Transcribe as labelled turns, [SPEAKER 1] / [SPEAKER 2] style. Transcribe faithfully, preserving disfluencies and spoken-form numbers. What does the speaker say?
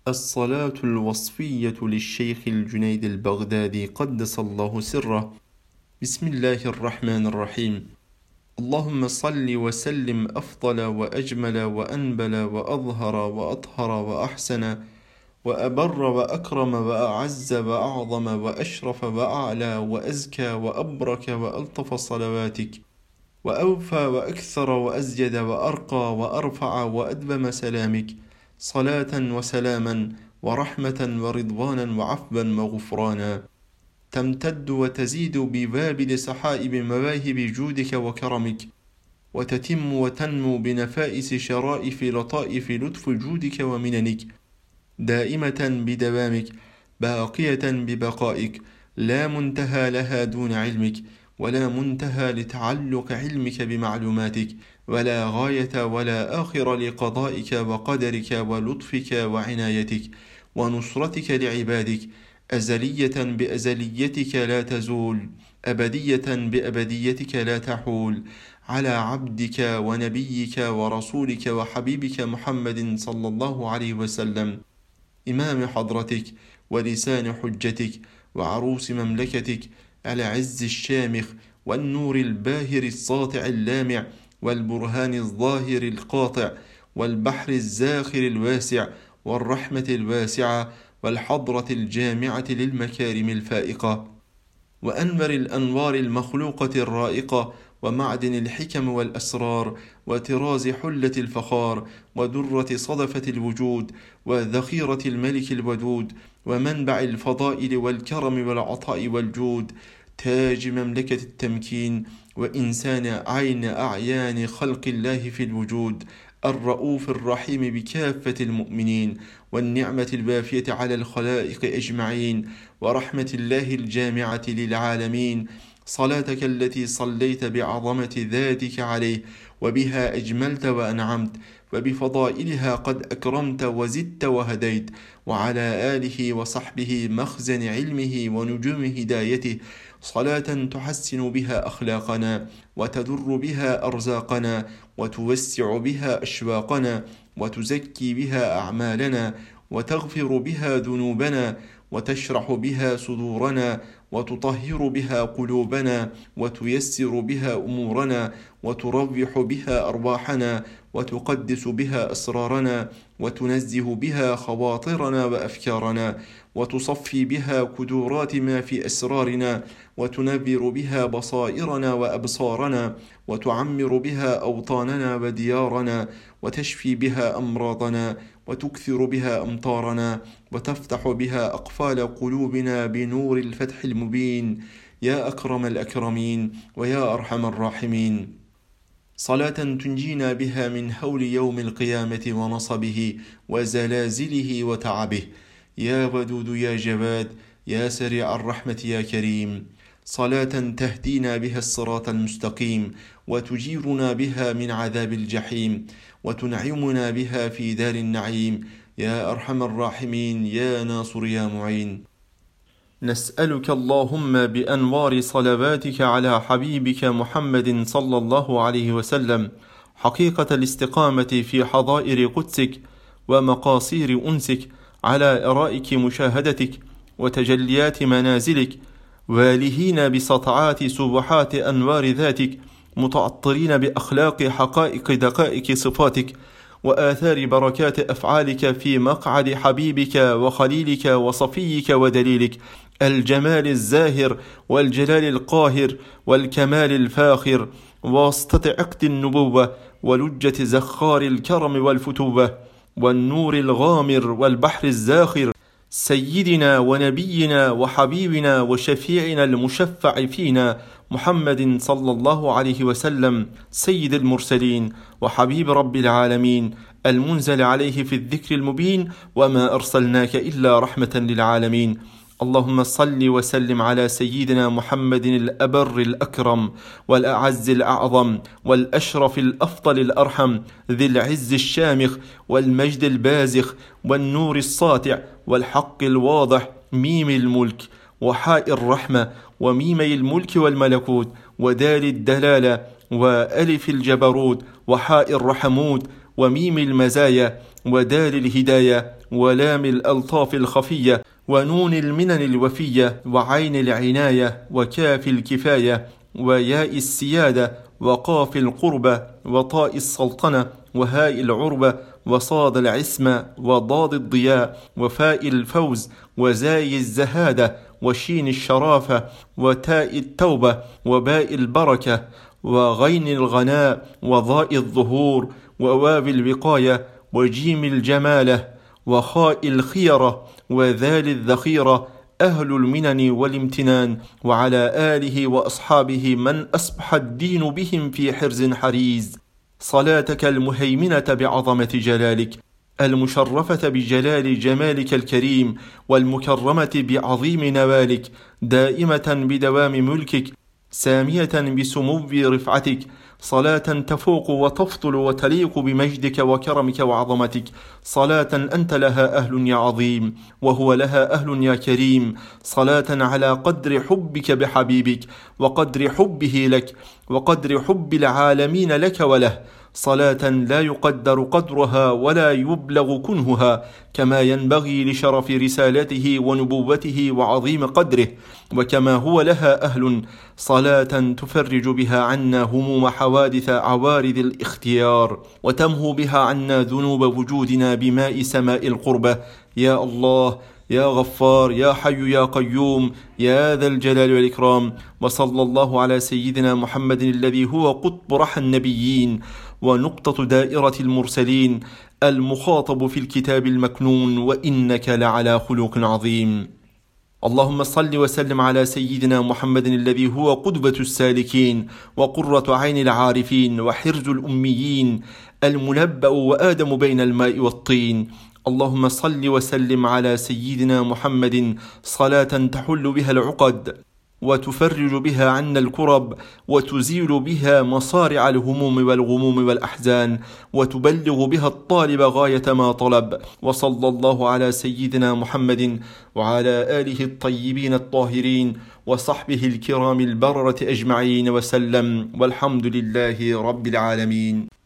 [SPEAKER 1] الصلاة الوصفية للشيخ الجنيد البغدادي قدس الله سره. بسم الله الرحمن الرحيم. اللهم صل وسلم أفضل وأجمل وأنبل وأظهر وأطهر وأحسن وأبر وأكرم وأعز وأعظم وأشرف وأعلى وأزكى وأبرك وألطف صلواتك، وأوفى وأكثر وأزيد وأرقى وأرفع وأدبم سلامك، صلاة وسلاما ورحمة ورضوانا وعفوا وغفرانا، تمتد وتزيد بوابل سحائب مواهب جودك وكرمك، وتتم وتنمو بنفائس شرائف لطائف لطف جودك ومننك، دائمة بدوامك، باقية ببقائك، لا منتهى لها دون علمك، ولا منتهى لتعلق علمك بمعلوماتك، ولا غاية ولا آخر لقضائك وقدرك ولطفك وعنايتك ونصرتك لعبادك، أزلية بأزليتك لا تزول، أبدية بأبديتك لا تحول، على عبدك ونبيك ورسولك وحبيبك محمد صلى الله عليه وسلم، إمام حضرتك ولسان حجتك وعروس مملكتك، على عز الشامخ والنور الباهر الساطع اللامع والبرهان الظاهر القاطع والبحر الزاخر الواسع والرحمة الواسعة والحضرة الجامعة للمكارم الفائقة وأنبر الأنوار المخلوقة الرائقة ومعدن الحكم والأسرار وطراز حلة الفخار ودرة صدفة الوجود وذخيرة الملك الودود ومنبع الفضائل والكرم والعطاء والجود، تاج مملكة التمكين وإنسان عين أعيان خلق الله في الوجود، الرؤوف الرحيم بكافة المؤمنين، والنعمة الوافية على الخلائق أجمعين، ورحمة الله الجامعة للعالمين، صلاتك التي صليت بعظمة ذاتك عليه وبها أجملت وأنعمت وبفضائلها قد أكرمت وزدت وهديت، وعلى آله وصحبه مخزن علمه ونجوم هدايته، صلاة تحسن بها أخلاقنا وتدر بها أرزاقنا وتوسع بها أشواقنا وتزكي بها أعمالنا وتغفر بها ذنوبنا وتشرح بها صدورنا وتطهر بها قلوبنا وتيسر بها أمورنا وتروح بها أرواحنا وتقدس بها أسرارنا وتنزه بها خواطرنا وأفكارنا وتصفي بها كدورات ما في أسرارنا وتنبر بها بصائرنا وأبصارنا وتعمر بها أوطاننا وديارنا وتشفي بها أمراضنا وتكثر بها أمطارنا وتفتح بها أقفال قلوبنا بنور الفتح المبين، يا أكرم الأكرمين ويا أرحم الراحمين. صلاة تنجينا بها من هول يوم القيامة ونصبه وزلازله وتعبه، يا ودود يا جواد يا سريع الرحمة يا كريم. صلاة تهدينا بها الصراط المستقيم وتجيرنا بها من عذاب الجحيم وتنعمنا بها في دار النعيم، يا أرحم الراحمين يا ناصر يا معين. نسألك اللهم بأنوار صلواتك على حبيبك محمد صلى الله عليه وسلم حقيقة الاستقامة في حظائر قدسك ومقاصير أنسك، على إرائك مشاهدتك وتجليات منازلك، والهين بسطعات سبحات أنوار ذاتك، متعطرين بأخلاق حقائق دقائق صفاتك وآثار بركات أفعالك في مقعد حبيبك وخليلك وصفيك ودليلك، الجمال الزاهر والجلال القاهر والكمال الفاخر، واسطة عقد النبوة ولجة زخار الكرم والفتوة والنور الغامر والبحر الزاخر، سيدنا ونبينا وحبيبنا وشفيعنا المشفع فينا محمد صلى الله عليه وسلم، سيد المرسلين وحبيب رب العالمين، المنزل عليه في الذكر المبين، وما أرسلناك إلا رحمة للعالمين. اللهم صل وسلم على سيدنا محمد الأبر الأكرم والأعز الأعظم والأشرف الأفضل الأرحم، ذي العز الشامخ والمجد البازخ والنور الساطع والحق الواضح، ميم الملك وحاء الرحمة وميمي الملك والملكوت ودال الدلالة وألف الجبروت وحاء الرحموت وميم المزايا، ودال الهداية ولام الألطاف الخفية ونون المنن الوفية وعين العناية وكاف الكفاية وياء السيادة وقاف القربة وطاء السلطنة وهاء العربة وصاد العصمة وضاد الضياء وفاء الفوز وزاي الزهادة وشين الشرافة وتاء التوبة وباء البركة وغين الغناء وضاء الظهور وواو الوقاية وجيم الجمالة وخاء الخيرة وذال الذخيرة أهل المنن والامتنان، وعلى آله وأصحابه من أصبح الدين بهم في حرز حريز. صلاتك المهيمنة بعظمة جلالك، المشرفة بجلال جمالك الكريم، والمكرمة بعظيم نوالك، دائمة بدوام ملكك، سامية بسمو رفعتك، صلاة تفوق وتفضل وتليق بمجدك وكرمك وعظمتك، صلاة أنت لها أهل يا عظيم، وهو لها أهل يا كريم، صلاة على قدر حبك بحبيبك، وقدر حبه لك، وقدر حب العالمين لك وله، صلاة لا يقدر قدرها ولا يبلغ كنهها، كما ينبغي لشرف رسالته ونبوته وعظيم قدره، وكما هو لها أهل، صلاة تفرج بها عنا هموم حوادث عوارض الاختيار، وتمهو بها عنا ذنوب وجودنا بماء سماء القربة. يا الله، يا غفار، يا حي يا قيوم، يا ذا الجلال والإكرام. وصلى الله على سيدنا محمد الذي هو قطب رحى النبيين ونقطة دائرة المرسلين، المخاطب في الكتاب المكنون، وإنك لعلى خلق عظيم. اللهم صل وسلم على سيدنا محمد الذي هو قدوة السالكين وقرة عين العارفين وحرز الأميين، المنبأ وآدم بين الماء والطين. اللهم صل وسلم على سيدنا محمد صلاة تحل بها العقد وتفرج بها عنا الكرب، وتزيل بها مصارع الهموم والغموم والأحزان، وتبلغ بها الطالب غاية ما طلب. وصلى الله على سيدنا محمد وعلى آله الطيبين الطاهرين وصحبه الكرام البررة أجمعين وسلم، والحمد لله رب العالمين.